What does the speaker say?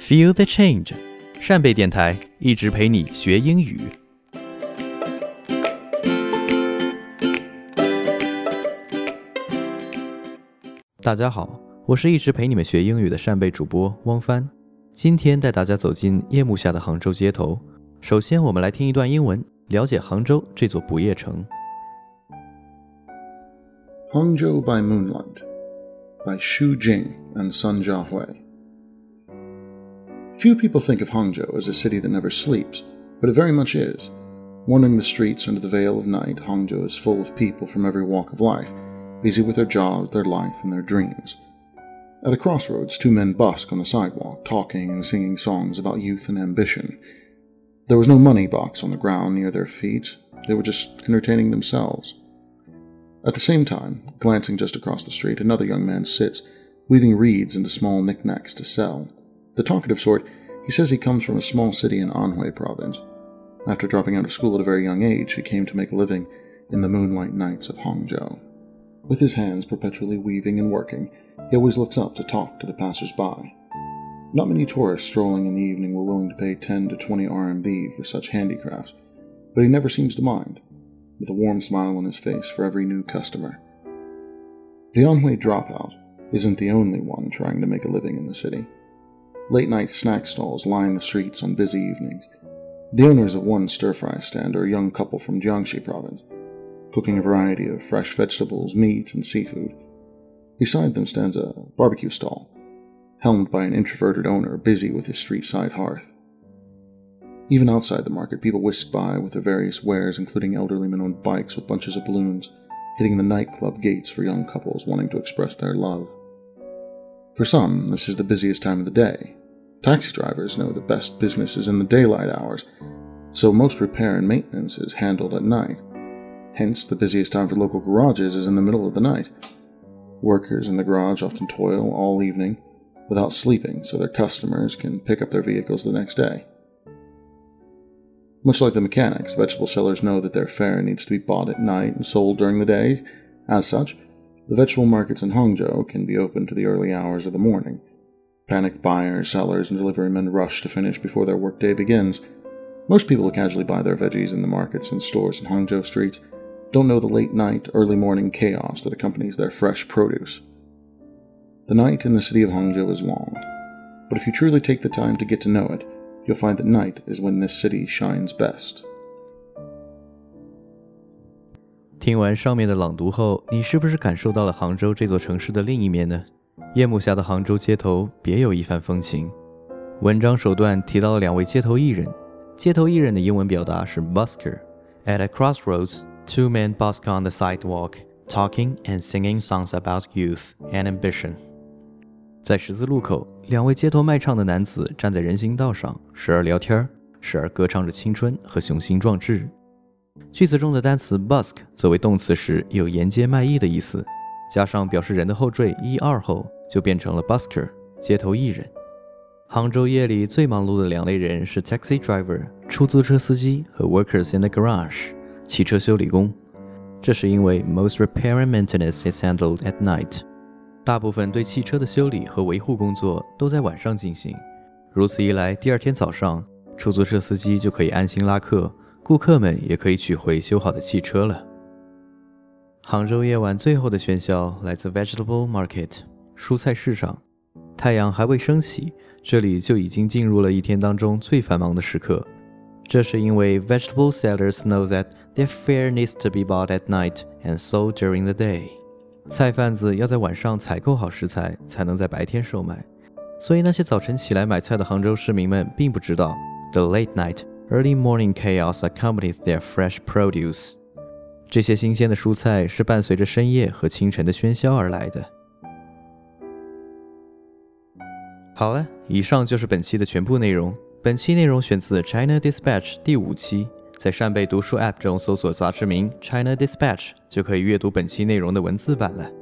Feel the change， 扇贝电台一直陪你学英语。大家好，我是一直陪你们学英语的扇贝主播汪帆。今天带大家走进夜幕下的杭州街头。首先，我们来听一段英文，了解杭州这座不夜城。 Hangzhou by Moonlight by Xu Jing and Sun Jiahui. Few people think of Hangzhou as a city that never sleeps, but it very much is. Wandering the streets under the veil of night, Hangzhou is full of people from every walk of life, busy with their jobs, their life, and their dreams. At a crossroads, two men busk on the sidewalk, talking and singing songs about youth and ambition. There was no money box on the ground near their feet. They were just entertaining themselves. At the same time, glancing just across the street, another young man sits, weaving reeds into small knickknacks to sell. The talkative sort, he says he comes from a small city in Anhui province. After dropping out of school at a very young age, he came to make a living in the moonlight nights of Hangzhou. With his hands perpetually weaving and working, he always looks up to talk to the passers-by. Not many tourists strolling in the evening were willing to pay 10 to 20 RMB for such handicrafts, but he never seems to mind, with a warm smile on his face for every new customer. The Anhui dropout isn't the only one trying to make a living in the city. Late-night snack stalls line the streets on busy evenings. The owners of one stir-fry stand are a young couple from Jiangxi province, cooking a variety of fresh vegetables, meat, and seafood. Beside them stands a barbecue stall, helmed by an introverted owner busy with his street-side hearth. Even outside the market, people whisk by with their various wares, including elderly men on bikes with bunches of balloons, hitting the nightclub gates for young couples wanting to express their love. For some, this is the busiest time of the day. Taxi drivers know the best business is in the daylight hours, so most repair and maintenance is handled at night. Hence, the busiest time for local garages is in the middle of the night. Workers in the garage often toil all evening without sleeping so their customers can pick up their vehicles the next day. Much like the mechanics, vegetable sellers know that their fare needs to be bought at night and sold during the day. As such, the vegetable markets in Hangzhou can be open to the early hours of the morning. Panicked buyers, sellers, and delivery men rush to finish before their workday begins. Most people who casually buy their veggies in the markets and stores in Hangzhou streets don't know the late-night, early-morning chaos that accompanies their fresh produce. The night in the city of Hangzhou is long, but if you truly take the time to get to know it, you'll find that night is when this city shines best. 听完上面的朗读后，你是不是感受到了杭州这座城市的另一面呢？夜幕下的杭州街头别有一番风情。文章首段提到了两位街头艺人，街头艺人的英文表达是 busker. At a crossroads, two men busk on the sidewalk, talking and singing songs about youth and ambition. 在十字路口，两位街头卖唱的男子站在人行道上，时而聊天，时而歌唱着青春和雄心壮志。句子中的单词 busk 作为动词时有沿街卖艺的意思，加上表示人的后缀一二后，就变成了 busker 街头艺人。杭州夜里最忙碌的两类人是 taxi driver 出租车司机和 workers in the garage 汽车修理工。这是因为 most repair and maintenance is handled at night， 大部分对汽车的修理和维护工作都在晚上进行。如此一来，第二天早上出租车司机就可以安心拉客，顾客们也可以取回修好的汽车了。杭州夜晚最后的喧嚣来自 vegetable market 蔬菜市场。太阳还未升起，这里就已经进入了一天当中最繁忙的时刻。这是因为 vegetable sellers know that their fare needs to be bought at night and sold during the day。 菜贩子要在晚上采购好食材，才能在白天售卖。所以那些早晨起来买菜的杭州市民们并不知道 the late night early morning chaos accompanies their fresh produce。 这些新鲜的蔬菜是伴随着深夜和清晨的喧嚣而来的。好了，以上就是本期的全部内容。本期内容选自 China Dispatch 第5期，在扇贝读书 App 中搜索杂志名 China Dispatch 就可以阅读本期内容的文字版了。